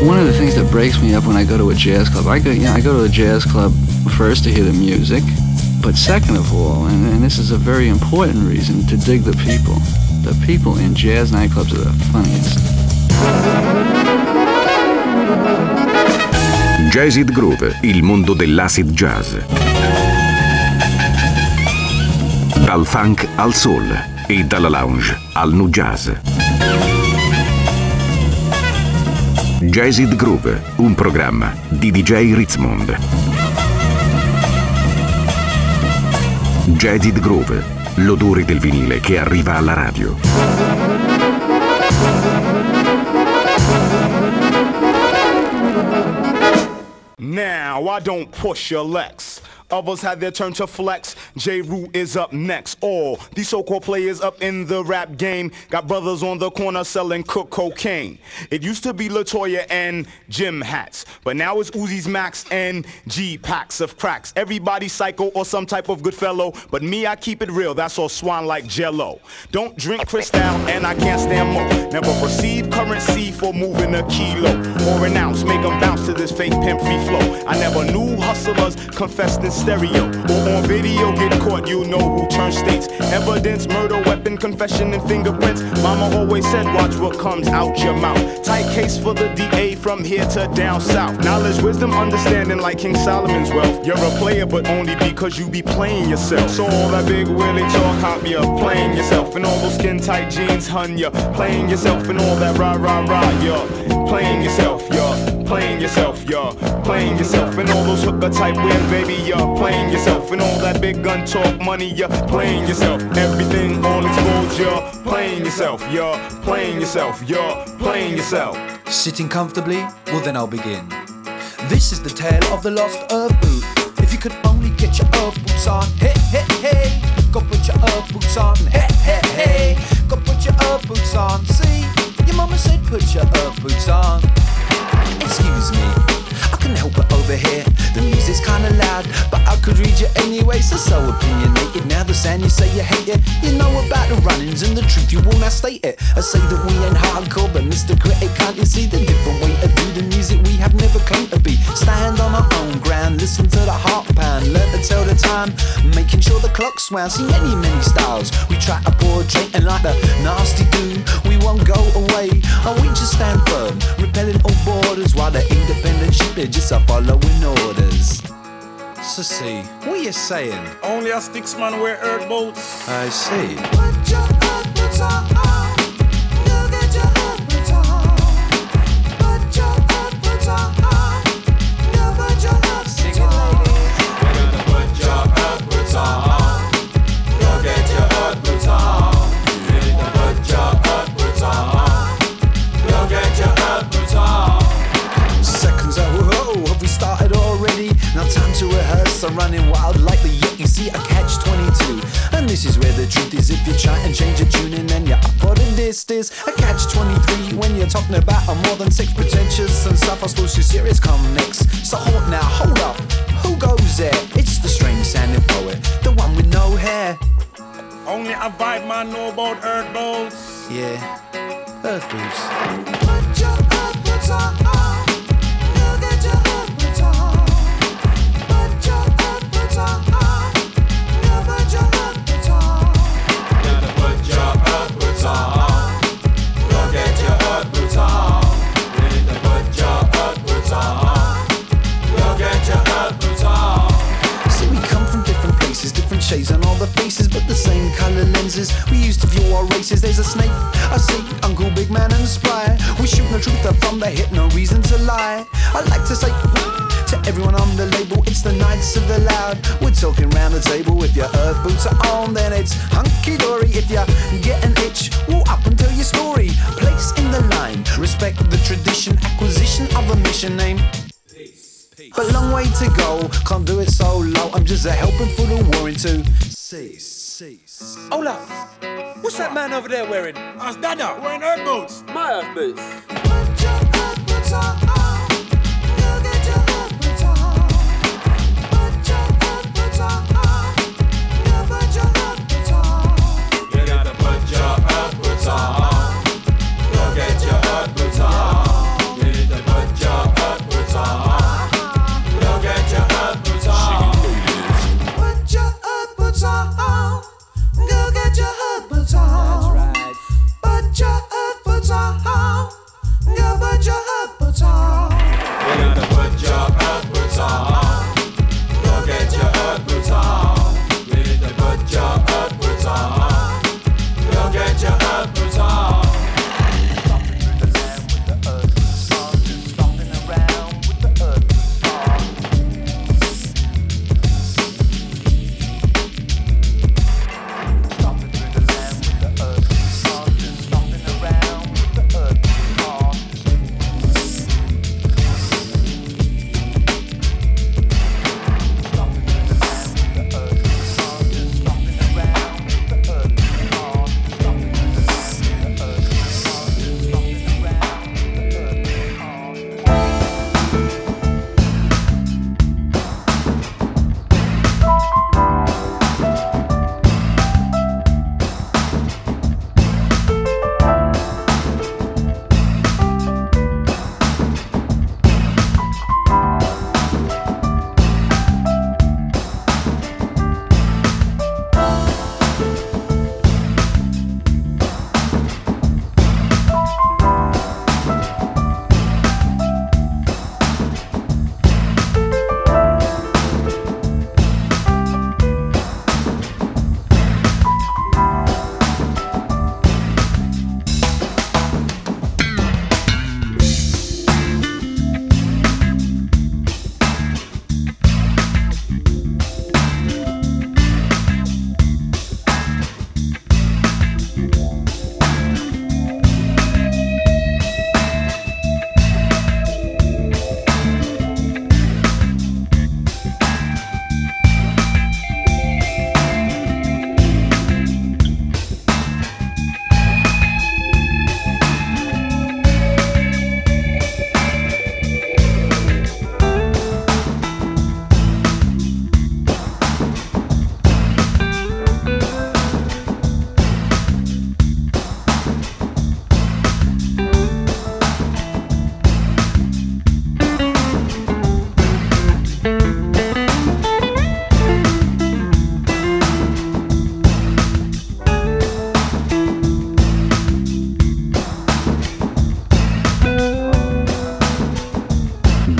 One of the things that breaks me up when I go to a jazz club, I go to a jazz club first to hear the music, but second of all, and this is a very important reason, to dig the people. The people in jazz nightclubs are the funniest. Jazzid Groove, il mondo dell'acid jazz. Dal funk al soul e dalla lounge al nu jazz. Jazzid Groove, un programma di DJ Ritzmond. Jazzid Groove, l'odore del vinile che arriva alla radio. Now I don't push your Lex. Others had their turn to flex. J. Root is up next. All these so-called players up in the rap game got brothers on the corner selling cook cocaine. It used to be LaToya and Jim hats, but now it's Uzi's Max and G packs of cracks. Everybody psycho or some type of good fellow, but me, I keep it real. That's all swan like Jello. Don't drink Cristal and I can't stand more. Never perceive currency for moving a kilo or an ounce. Make them bounce to this fake pimp free flow. I never knew hustlers confessed in stereo or on video. Get caught, you know who turns states. Evidence, murder, weapon, confession, and fingerprints. Mama always said, watch what comes out your mouth. Tight case for the DA from here to down south. Knowledge, wisdom, understanding like King Solomon's wealth. You're a player, but only because you be playing yourself. So all that big Willie talk, hop, you're playing yourself. And all those skin tight jeans, hun, you're playing yourself. And all that rah, rah, rah, you're playing yourself, you're playing yourself, you're playing yourself. And all those hooker type wears, baby, you're playing yourself. And all that big gun talk money, you're playing yourself. Everything on exposed, you're playing yourself, you're playing yourself, you're playing yourself. Sitting comfortably? Well then I'll begin. This is the tale of the lost herb boot. If you could only get your herb boots on, hey, hey, hey. Go put your herb boots on, hey, hey, hey. Go put your herb boots on. See, your mama said put your herb boots on. Excuse me, I couldn't help it over here. The music's kinda loud, but I could read you anyway. So opinionated. Now the sound you say you hate it. You know about the run-ins and the truth, you will not state it. I say that we ain't hardcore, but Mr. Critic, can't you see the different way to do the music we have never claimed to be? Stand on our own ground, listen to the heart pound, learn to tell the time, making sure the clock's wound. See many, many styles we try to portray, and like the nasty do, we won't go away. And we just stand firm, repelling all borders, while the independent sheep, they're just a following orders. So see, what you saying? Only a sticks man wear earth boots. I see. Put your earth boots on. You get your earth boots on. Put your earth boots on. You put your earth boots on. You gotta put your earth boots on. You get your earth boots on. You need to put your earth boots on. You get your earth boots on. Seconds out, whoa, have we started already? Now time to rehearse, I'm running wild like the Yeti. See, I catch 22. And this is where the truth is. If you try and change your tune and then you're up for the this a catch 23 when you're talking about a more than sex pretentious and stuff. I suppose you serious come next. So hold now, hold up, who goes there? It's the strange sounding poet, the one with no hair. Only a vibe man know about earth boots. Yeah, earth boots. Put your earth boots on. You get your earth boots on. Put your earth boots on. You put your earth boots on. Gotta put your earth boots on. Go get your earth boots on. You need to put your earth boots on. Go get your earth boots on. See, we come from different places, different shades on all the faces, but the same color lenses we used to view our races. There's a snake, I see, Uncle Big Man and Spry. We shoot the truth up from the hip, no reason to lie. I like to say to everyone on the label, it's the Knights of the Loud. We're talking round the table. If your earth boots are on, then it's hunky-dory. If you get an itch, walk up and tell your story. Place in the line, respect the tradition, acquisition of a mission name. But long way to go, can't do it so low. I'm just a helping for the war into cease. Hold up, what's that man over there wearing? That's Dada, wearing earth boots. My earth boots. Put your earth boots on. You get your earth boots on. Put your earth boots on. You put your earth boots on. You gotta put your earth boots on. Go get your earth boots on. You need to put your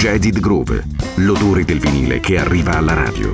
Jaded Groove, l'odore del vinile che arriva alla radio.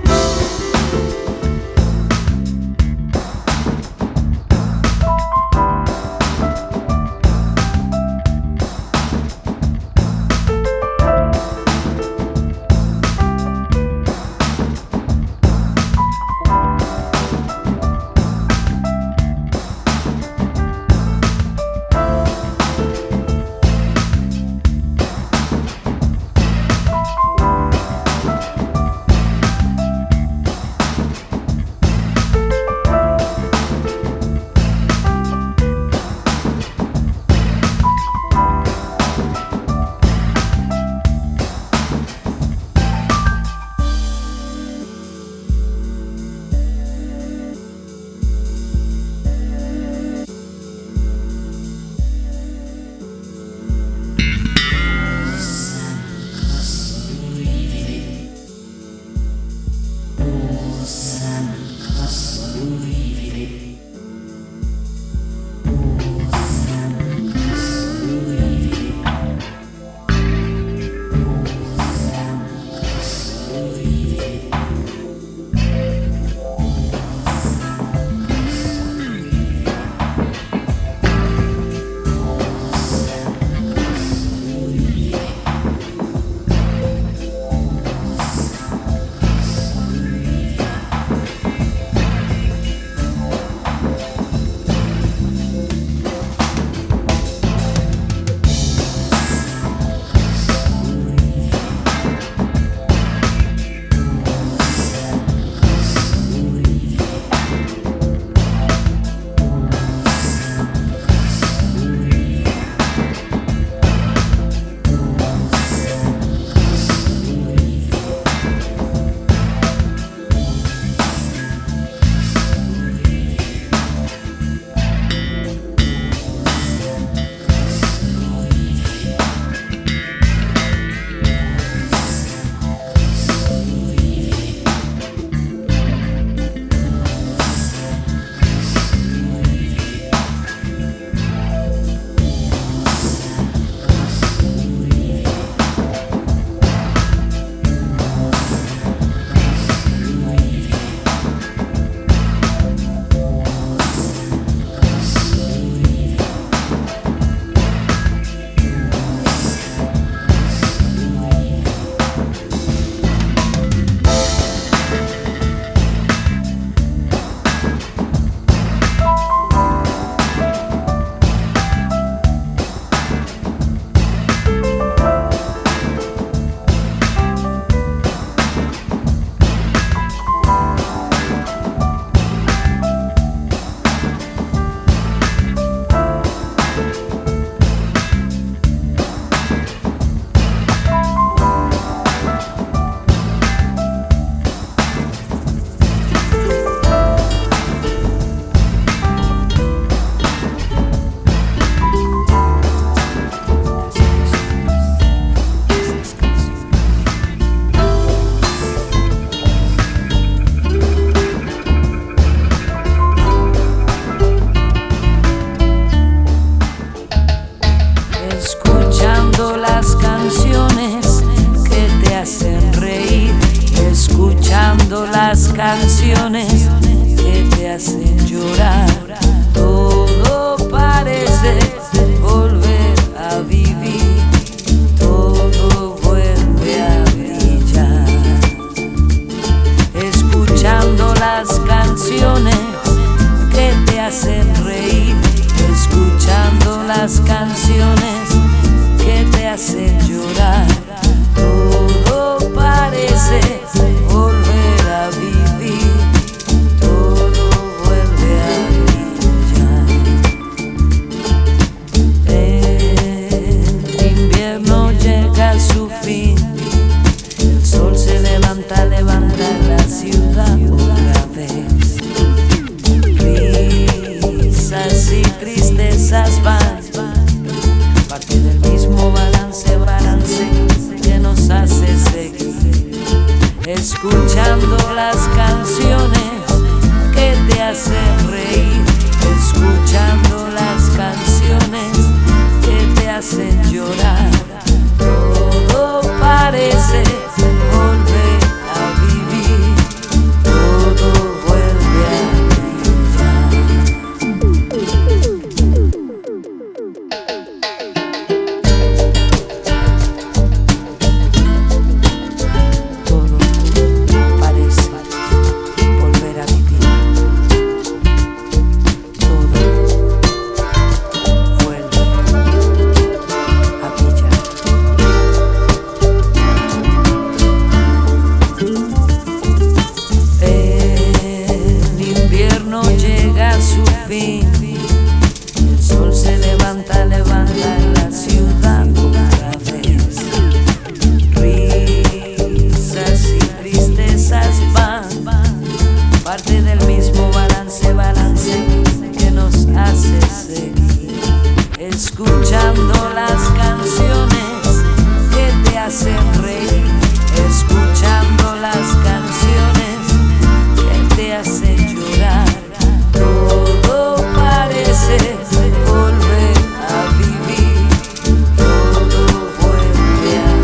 canciones que te hacen llorar. Todo parece volver a vivir, todo vuelve a brillar. Escuchando las canciones que te hacen reír, escuchando las canciones que te hacen llorar. Todo parece volver a vivir, todo vuelve a brillar. El invierno llega a su fin, el sol se levanta, levanta la ciudad otra vez. Risas y tristezas van, parte del mismo balance, balance que nos hace seguir. Escuchando las canciones que te hacen reír, escuchando las canciones que te hacen llorar. Todo parece escuchando las canciones que te hacen reír, escuchando las canciones que te hacen llorar. Todo parece volver a vivir, todo vuelve a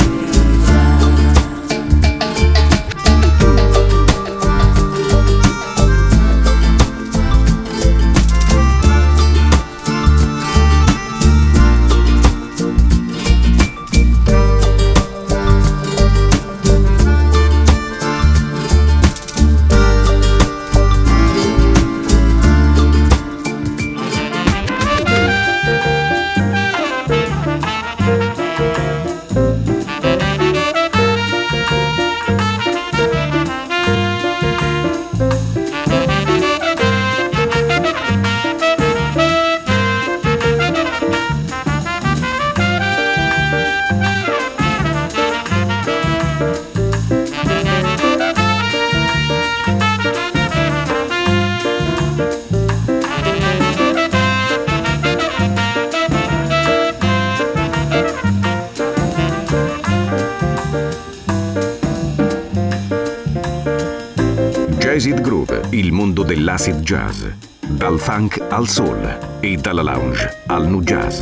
Jazz Groove, il mondo dell'acid jazz, dal funk al soul e dalla lounge al nu jazz.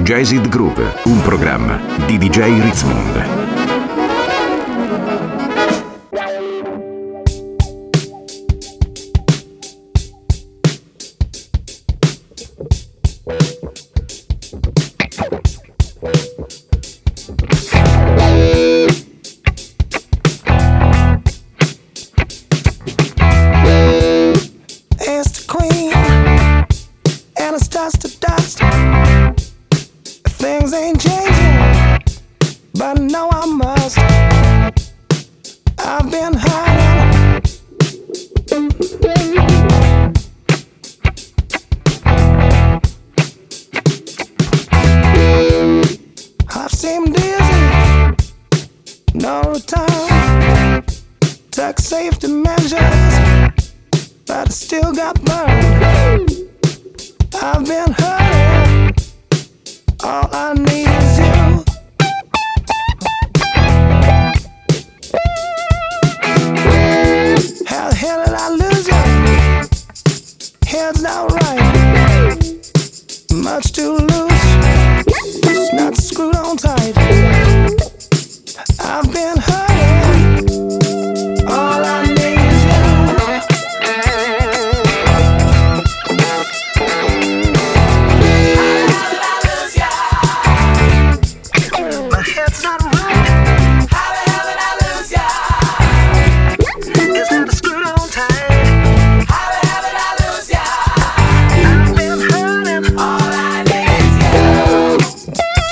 Jazzed Groove, un programma di DJ Ritzmond. It's the queen, and it's dust to dust. Things ain't changing, but no, I must. I've been hiding. I've seemed dizzy, no return. Took safety measures, but I still got burned. I've been hurting. All I need is you. How the hell did I lose you? Head's not right. Much too loose. It's not screwed on tight. I've been hurting. All I need is you. My head's not right. How the hell did I lose ya? It's not screwed on tight. How the hell did I lose ya? I've been hurting. All I need is you.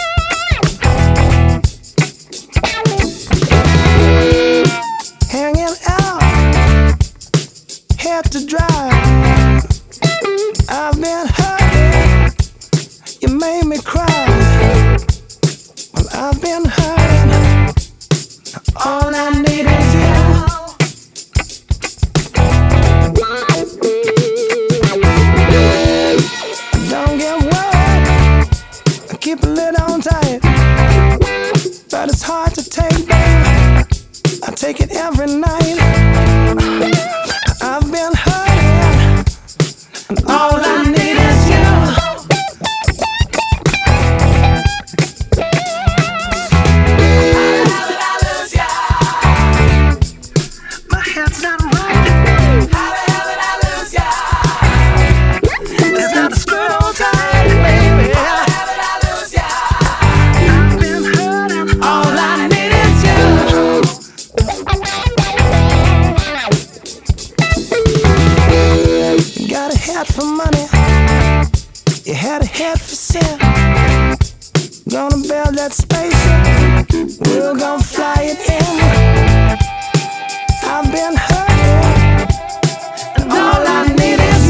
Hanging out, head to dry. I've been hurting. You made me cry. Well, I've been hurting. All I need is you. Don't get worried. I keep a lid on tight. But it's hard to take, baby. I take it every night. I've been hurting. And all I need is you. My head's not right. How the hell did I lose ya? It's not a screw on tight, baby. How the hell did I lose ya? I've been hurting. All I need is you. You got a head for money. You had a head for sin. Gonna build that spaceship. We're gonna fly it in. I've been hurting, and all I need is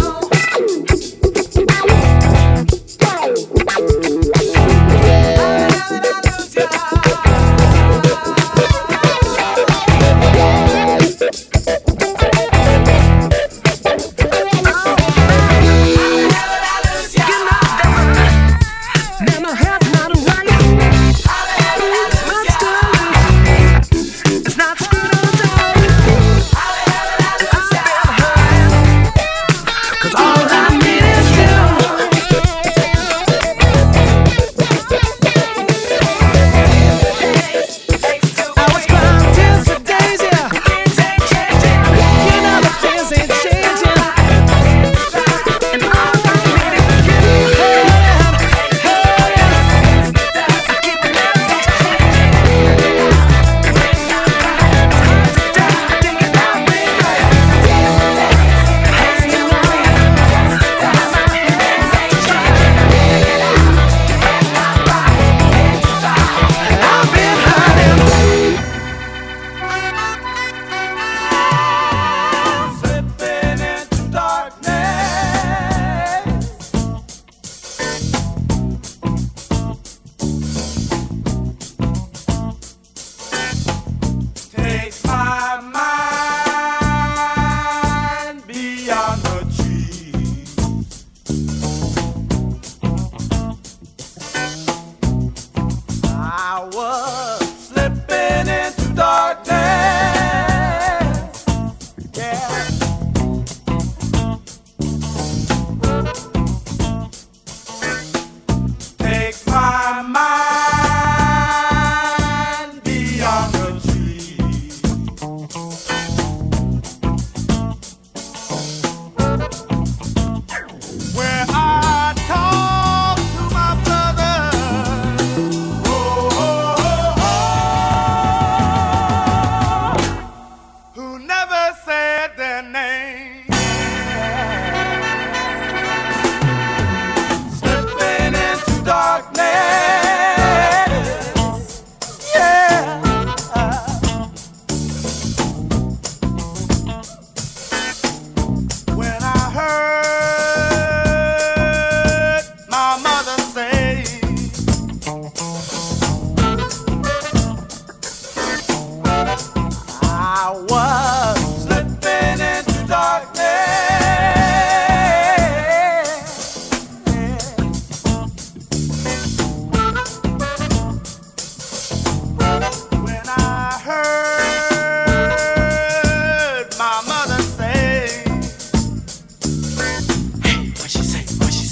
now my head's not right. It's not screwed on tight.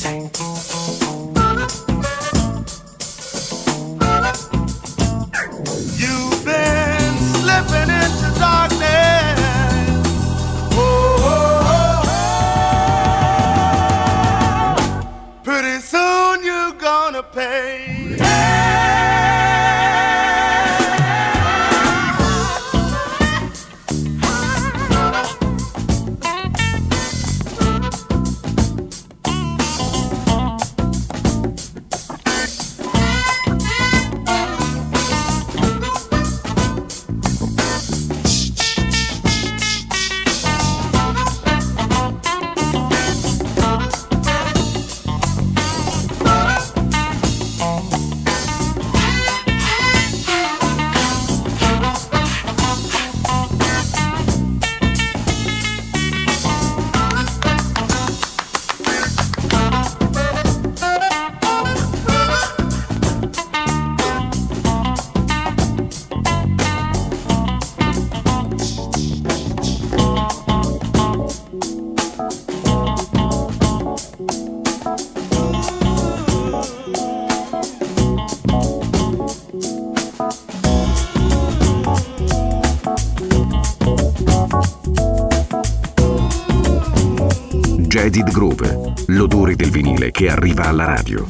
Jaded Groove, l'odore del vinile che arriva alla radio.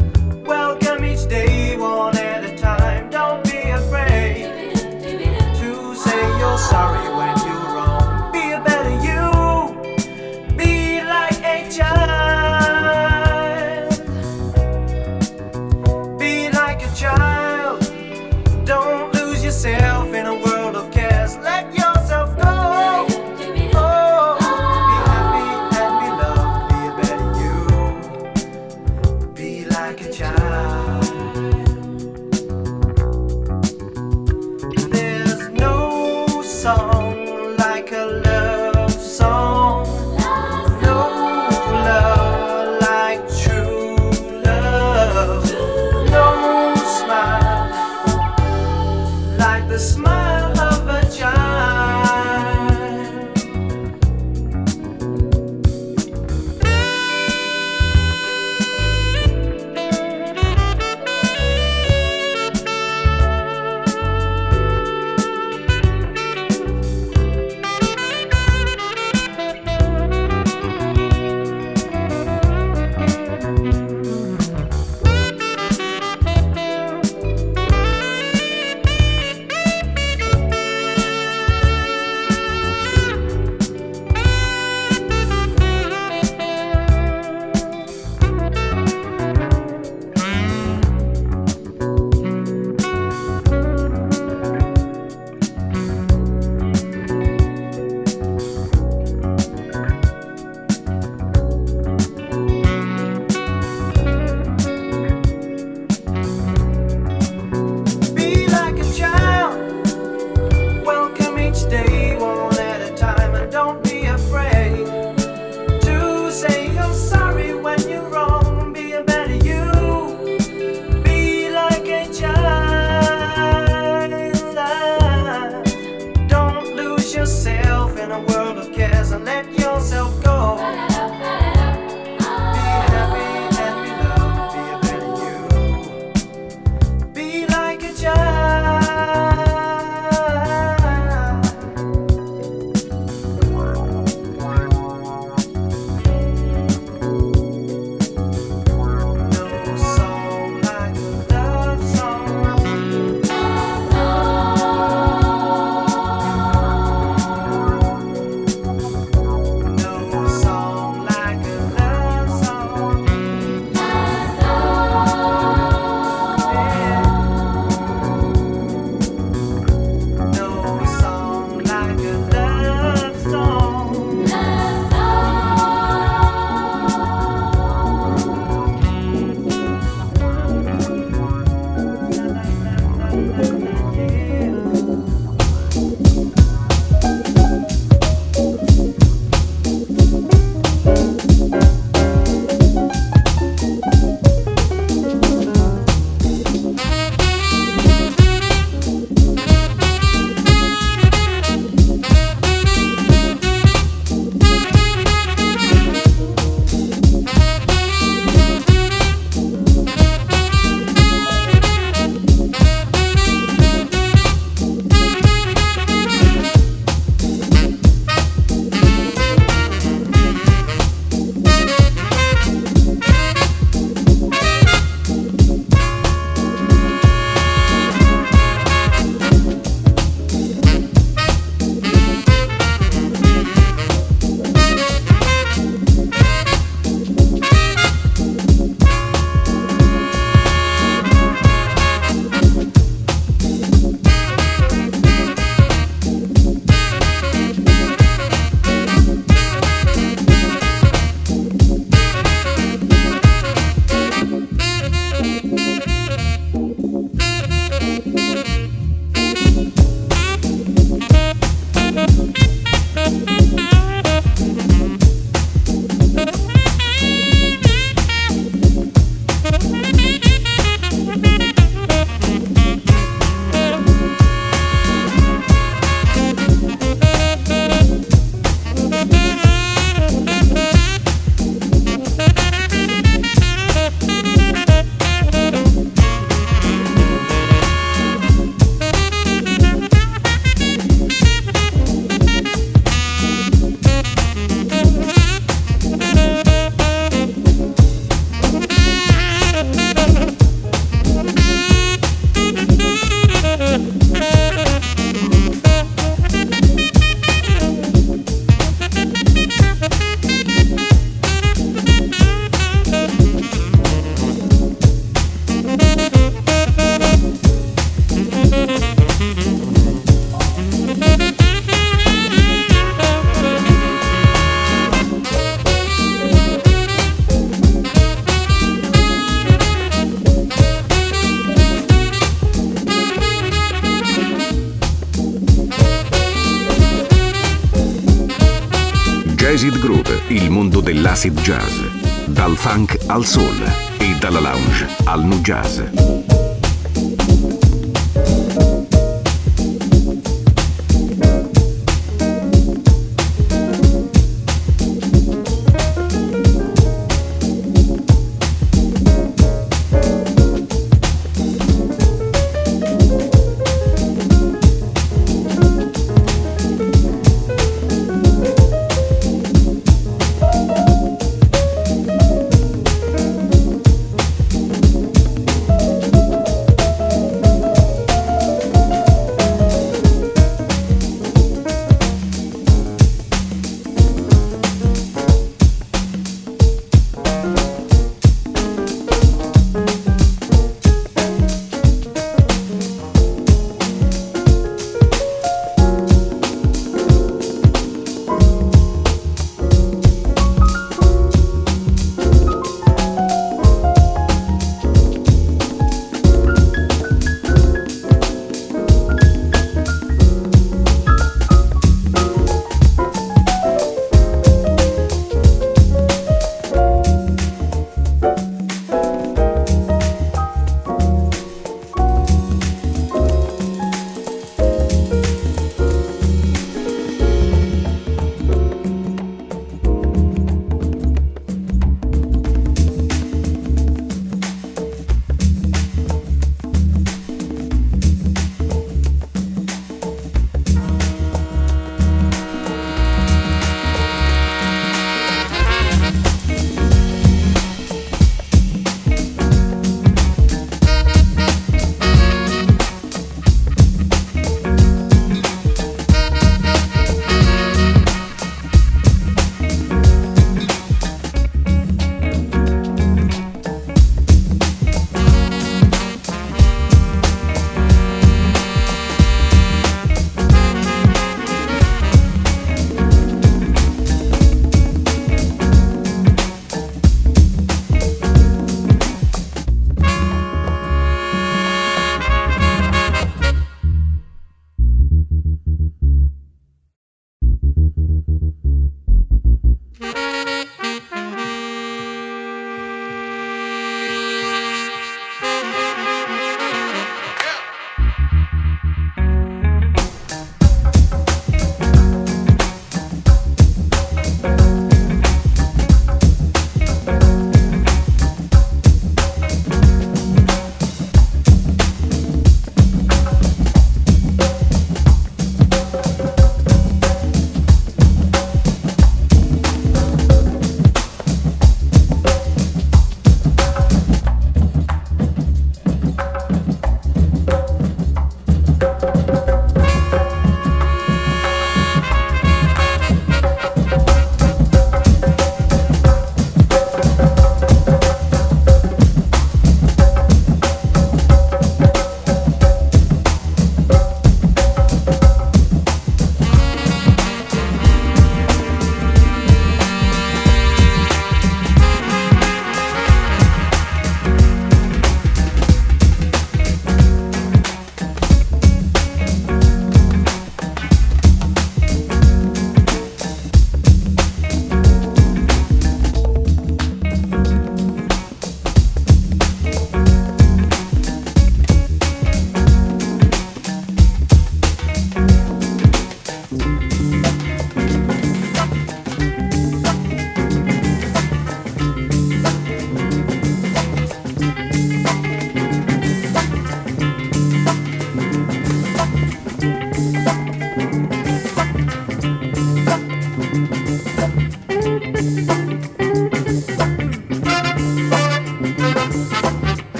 Welcome each day one at a time. Don't be afraid to yourself in a world of cares. Let yourself go. Oh, be happy and be loved. Be a better you. Be like a child. There's no song like a love song. No love like true love. No smile like the smile of a child. Be like a child. Welcome each day, one at a time, and don't be afraid to say you're sorry when you're wrong. Be a better you. Be like a child. Don't lose yourself in a world of cares and let yourself go. Be happy and be loved. Be a better you. Be like a child. No song like a love song. No Jazz Groove, il mondo dell'acid jazz. Dal funk al soul e dalla lounge al nu jazz.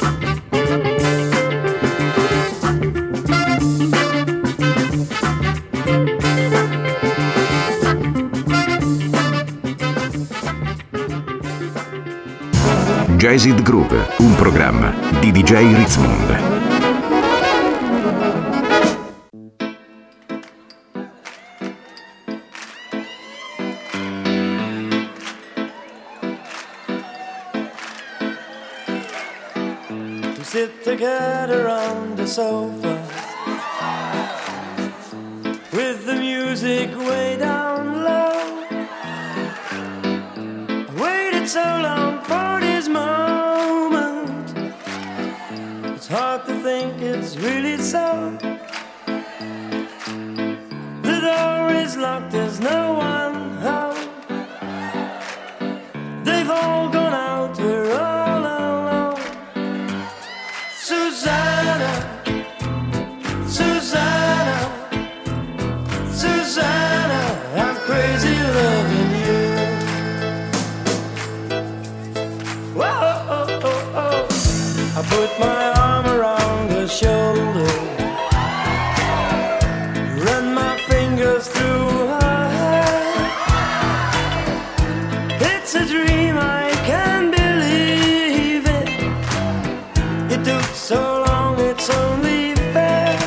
Jazzed Groove, un programma di DJ Ritzmond. We sit together on the sofa with the music way down low. I waited so long for this moment. It's hard to think it's really so. The door is locked, there's no one home. They've all gone out, we're all alone. Susanna, Susanna, Susanna, I'm crazy loving you. Whoa, oh, oh, oh. I put my arm around her shoulder, run my fingers through her hair. It's a dream, I can't believe it. It took so long, it's only fair.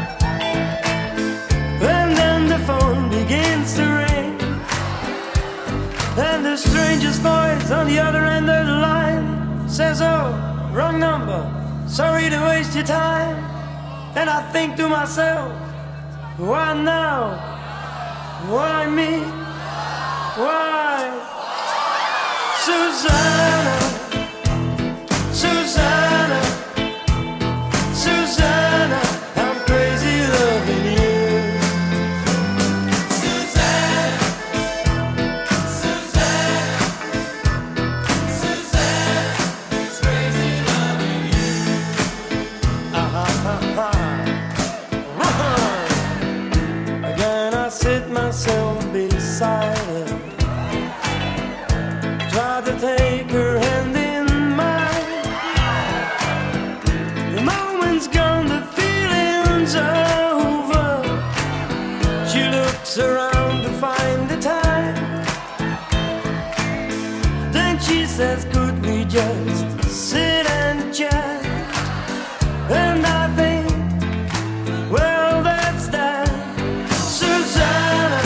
And then the phone begins to ring, and the stranger's voice on the other end of the line says, oh, wrong number, sorry to waste your time. And I think to myself, why now? Why me? Why? Susanna, Susanna, Susanna, I'm crazy loving you. Susanna, Susanna, Susanna, it's crazy loving you. Again I sit myself beside her, try to take her hand in mine. The moment's gone, the feeling's over. She looks around to find the time. Then she says, could we just sit and chat? And I think, well, that's that. Susanna,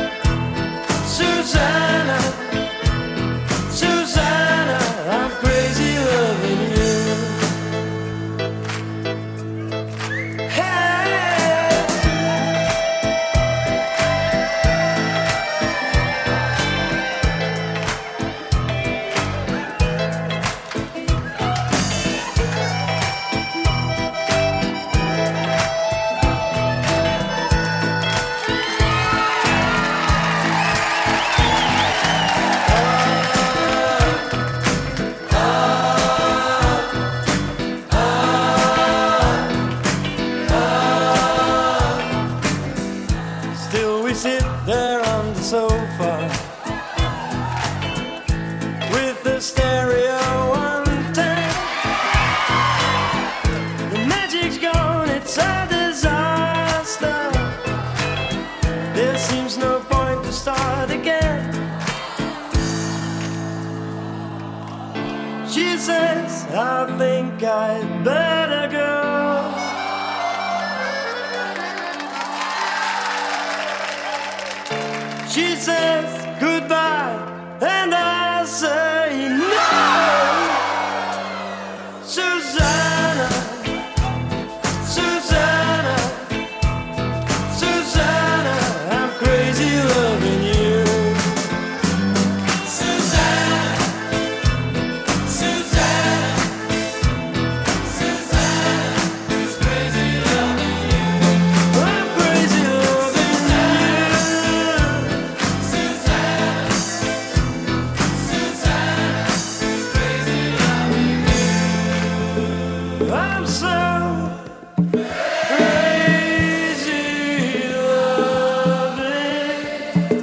Susanna, Susanna, I'm crazy loving you. Hey. Still we sit there on the sofa with the stereo on 10. The magic's gone, it's a disaster. There seems no point to start again. She says, I think I'd better go. She says goodbye, and I say no. Susanna, Susanna, Susanna, I'm crazy loving you. Susanna, Susanna, Susanna, it's crazy loving you. I'm crazy loving you. I'm so crazy loving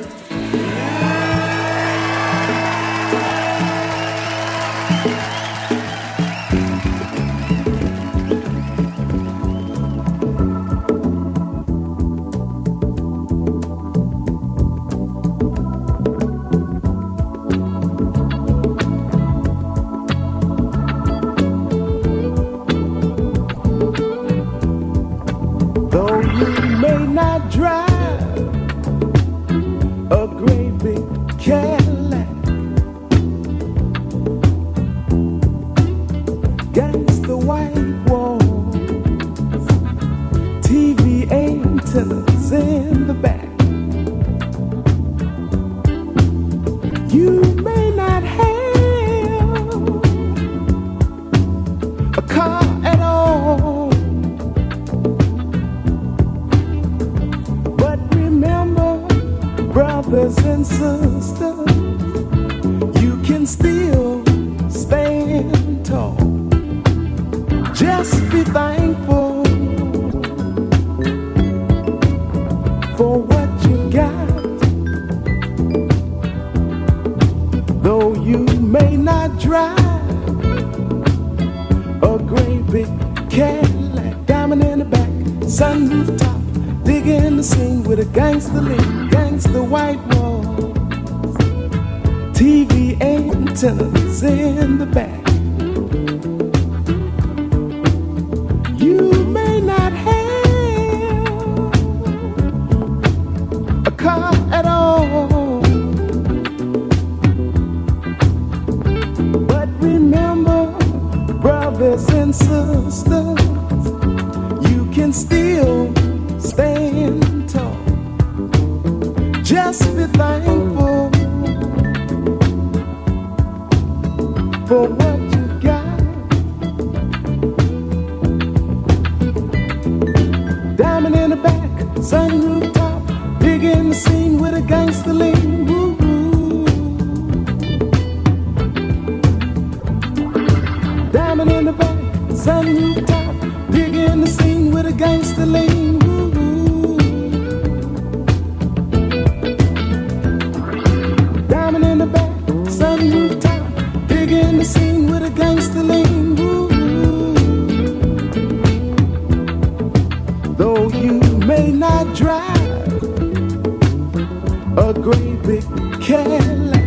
you. white walls, TV antennas in the back. You may not have a car at all, but remember, brothers and sisters, you can still stand tall. Just be thankful for what you got. Though you may not drive a great big Cadillac, diamond in the back, sunroof top, digging the scene with a gangster lean, gangster white walls, TV antennas in the back. You may not have a car at all, but remember, brothers and sisters, you can still stand tall. Just be thankful for what you got. Diamond in the back, sunroof top, big in the scene with a gangster lean. Woo-hoo. Diamond in the back, sunroof top, big in the scene with a gangster lean. Woo-hoo. Diamond in the back, sunroof top, big in the scene with a gangster lean. Woo-hoo. Though you may not drive a great big Cadillac,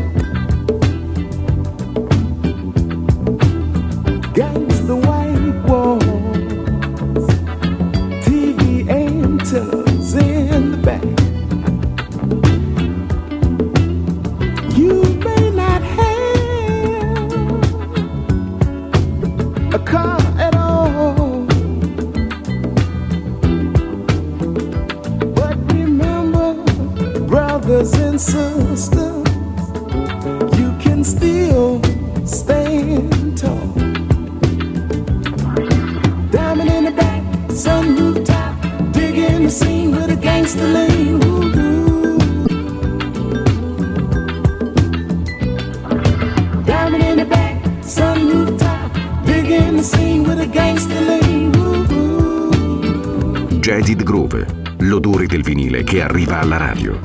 gangsta white walls, TV antennas in the back. You may not have a car at all, but remember, brothers and sisters, you can still stand tall. Diamond in the back, sunroof top, digging the scene with a gangster lean. Woo-hoo. Diamond in the back, sunroof top, digging the scene with a gangster lean. Woo-hoo. Jazzed Groove, l'odore del vinile che arriva alla radio.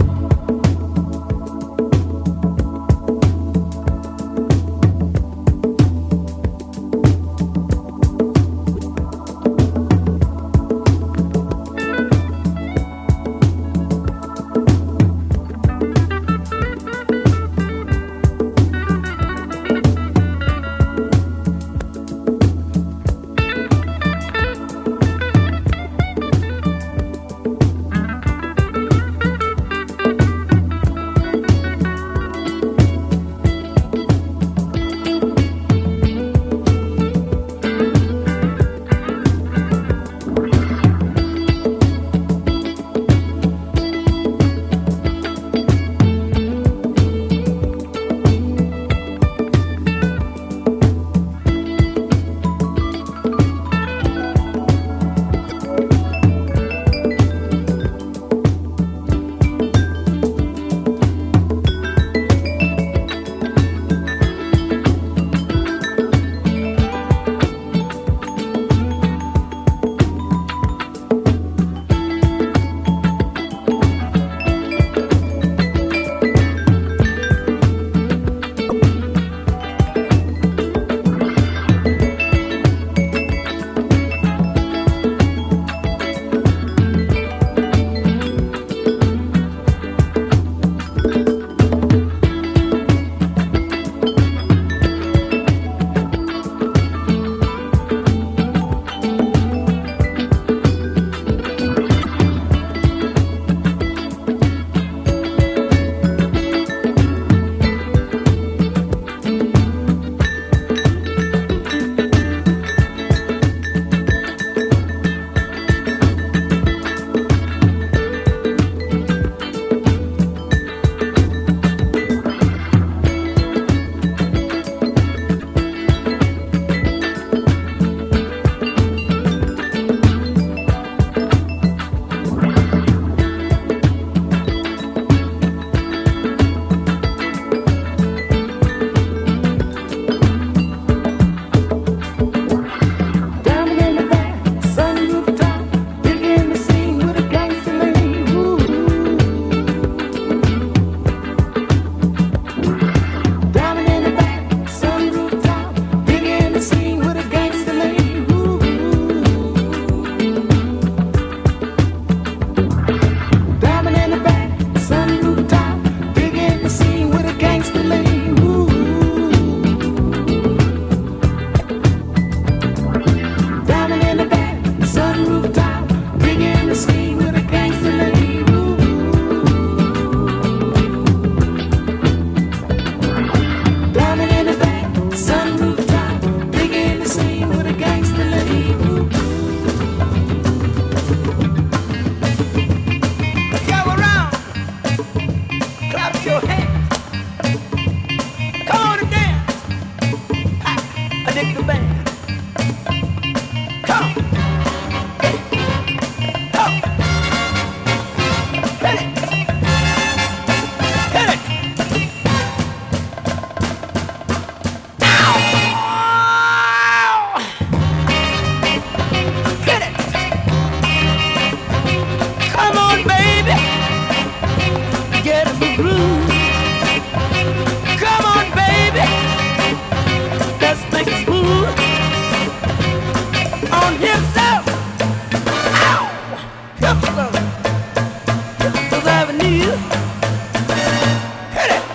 on himself. Ow! Hipsters, Hipsters Avenue. Hit it!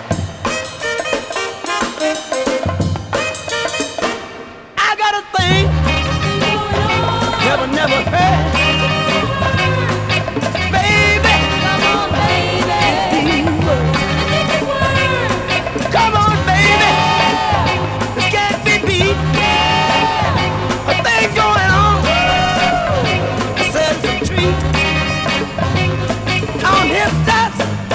I got a thing never heard. Baby, come on, baby. Come on, baby. This can't be beat. A thing going on. I said it's a treat. On his dust.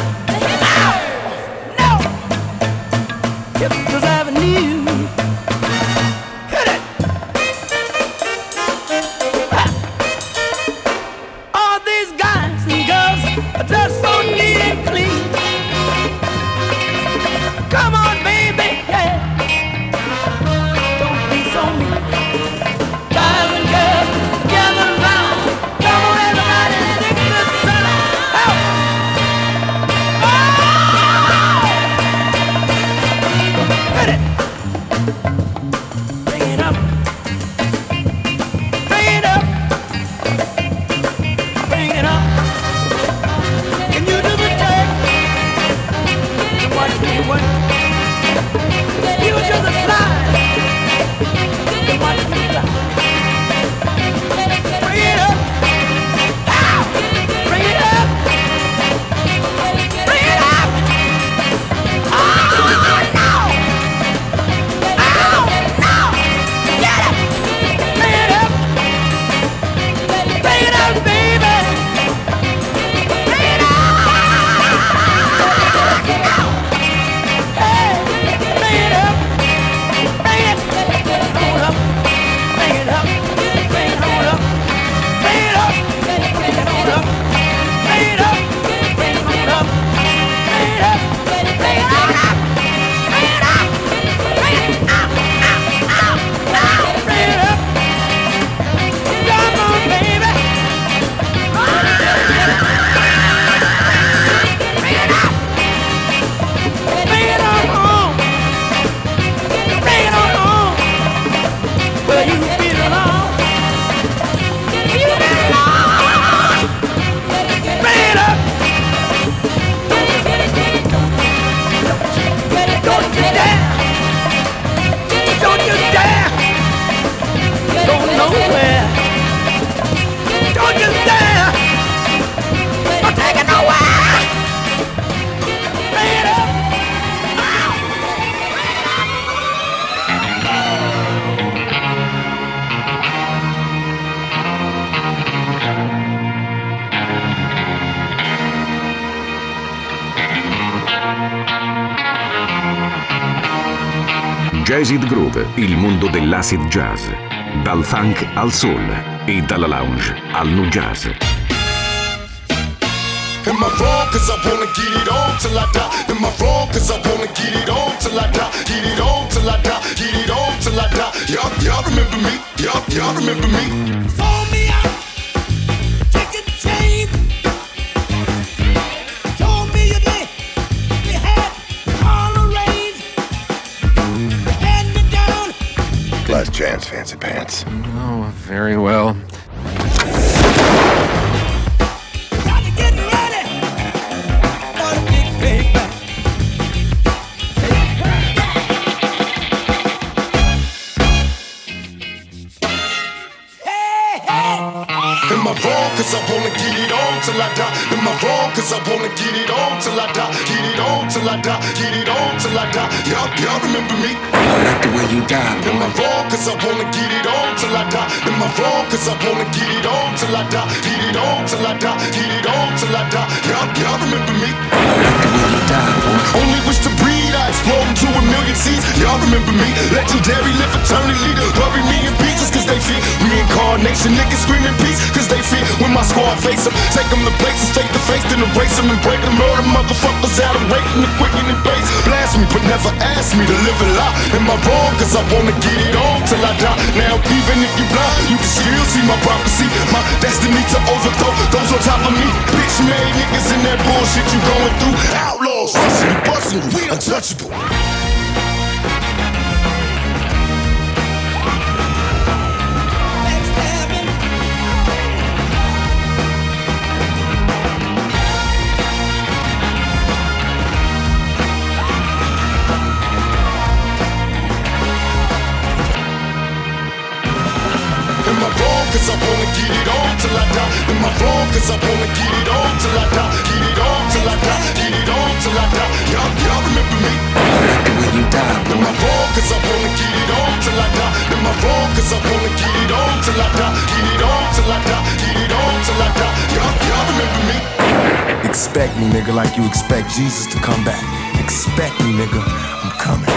No. Hipsters Avenue. Hit it. All these guys and girls are dressed so neat and clean. Come on, baby, yeah. Don't be so mean. Guys and girls, gather around. Come on, everybody, sing this song. Oh! Hit it. Bring it up. Bring it up. Bring it up. Can you do the jig? Watch me work. You do the slide. Watch me slide. Bring it up. Ow! Bring it up. Bring it up. Oh, no. Oh, no. Get it. Bring it up. Bring it up, baby. Bring it up. Hey, bring it up. Bring it. Hold up. Bring it up. Bring it hold up. Bring it up. Bring it hold up. Bring it up. Bring it hold up. Bring it up. Bring it hold up. Bring it up. Bring it up. Bring it up. Come on, baby. Bring it up. Bring it on home. Bring it on home. Where you belong. You belong. Bring it up. Don't you dare. Don't you dare. Go nowhere. Don't you dare. Don't take it nowhere. Bring it up. Jazzid Groove, il mondo dell'acid jazz. Dal funk al soul e dalla lounge al nu jazz. Am I wrong cause I wanna get it on till I die? Am I wrong cause I wanna get it on till I die? Get it on till I die, get it on till I die. Y'all remember me, y'all remember me. Phone me out, chicken chain. Told me you did, you had all arranged. You had me down. Last chance, fancy pants. Oh, very well. Got to get ready for the big paper. Hey, hey. Am I wrong cause I wanna get it on till I die? Am I wrong cause I wanna get it on till I die? Get it on till I die, get it on till I die. Y'all remember me? I like the way you die, Am I boy. wrong cause I wanna get it on till I die? Am I wrong cause I wanna get it on till I die? Get it on till I die, get it on till I die. Y'all remember me? I like the way you die, boy. Only wish to breed, I explode into a million seeds. Y'all remember me? Legendary, live eternally. Bury me in pieces cause they feed. Reincarnation, niggas screaming peace cause they feed. When my squad face them, take them to places, take the face, then erase them and break them. Murder motherfuckers out of waiting and quicking and base. Blast me, but never ask me to live a lie. Am I wrong cause I wanna get it on till I die? Now even if you blind, you can still see my prophecy. My destiny to overthrow those on top of me. Bitch made niggas in that bullshit you going through. Outlaws, rushing and busting, we untouchable. Backstab wrong? Cause I wanna get it on till I die. Am I wrong? Cause I wanna get it on till I die. Get it on till I die. Get it on till I die. Y'all remember me? I like the way you die, boy. Am I wrong? Cause I wanna get it on till I die. Am I wrong? Cause I wanna get it on till I die. Get it on till I die. Get it on till I die. Y'all remember me? Expect me, nigga, like you expect Jesus to come back. Expect me, nigga. I'm coming.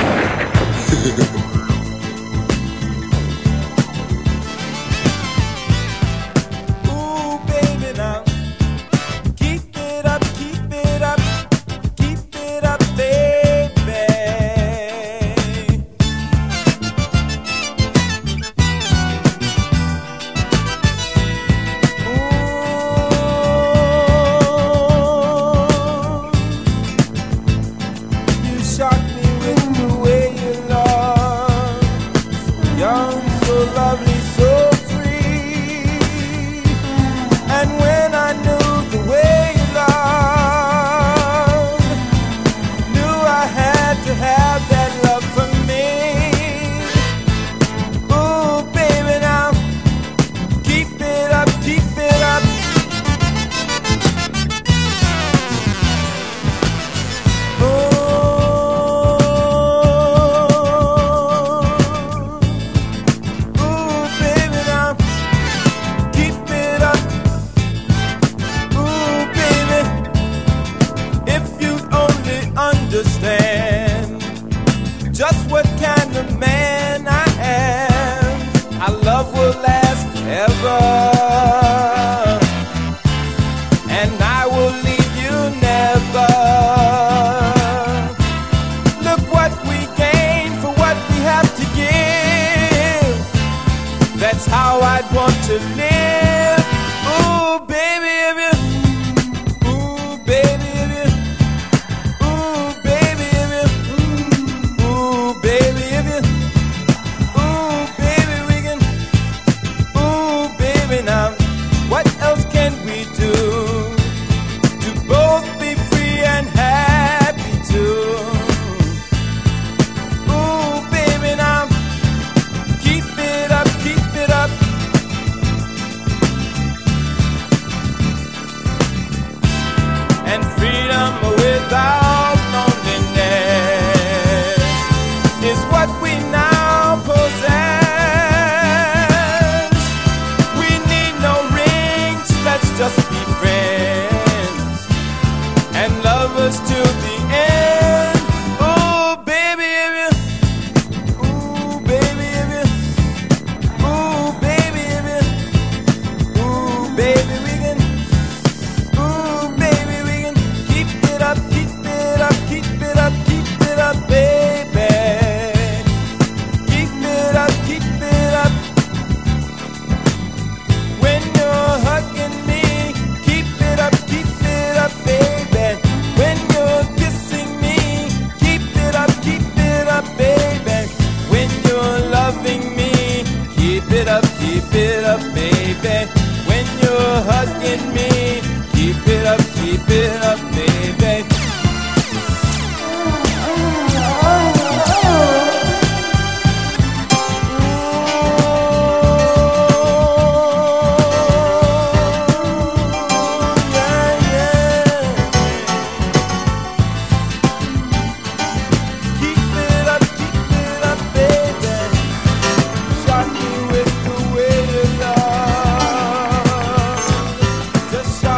Just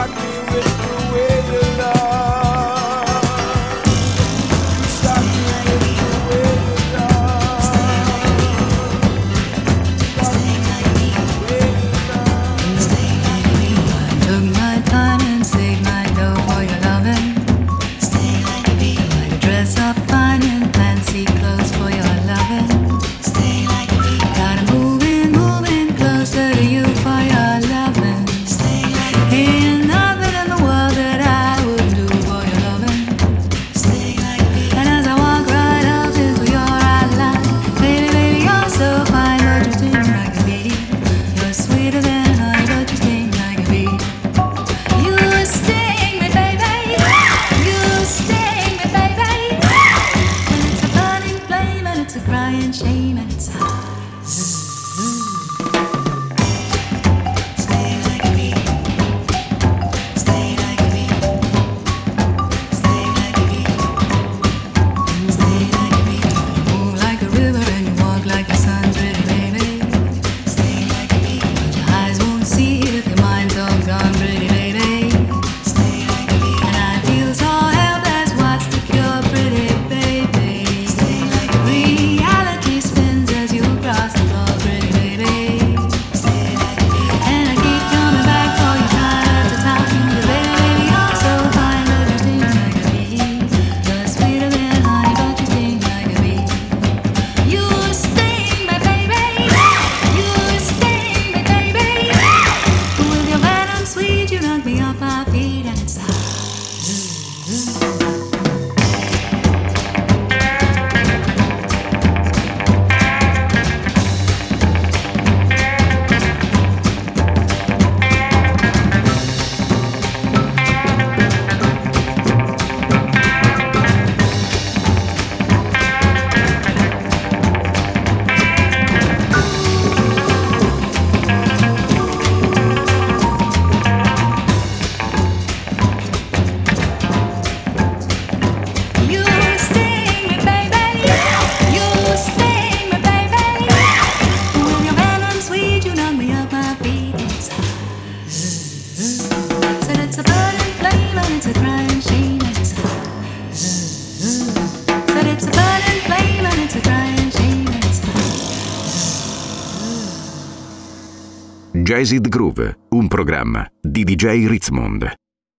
don't see it if your mind's all gone, pretty baby. Stay like a bee. And I feel so helpless, what's the cure, pretty baby? Stay like a bee. Reality spins as you cross the floor, pretty baby. Stay like a bee. And I keep coming back for you, trying to talk to you, baby. You're so fine, but you sting like a bee. You're sweeter than honey, but you sting like a bee. You sting me, baby. You sting me, baby. With your venom sweet, you knock me off my feet, and it's you sting me, baby. You sting me, baby. With your venom sweet, you knock me off my feet. It's said it's a burning flame and it's a crying shame. It's said it's a burning flame and it's a crying shame. It's Jazzed Groove, un programma di DJ Ritzmond.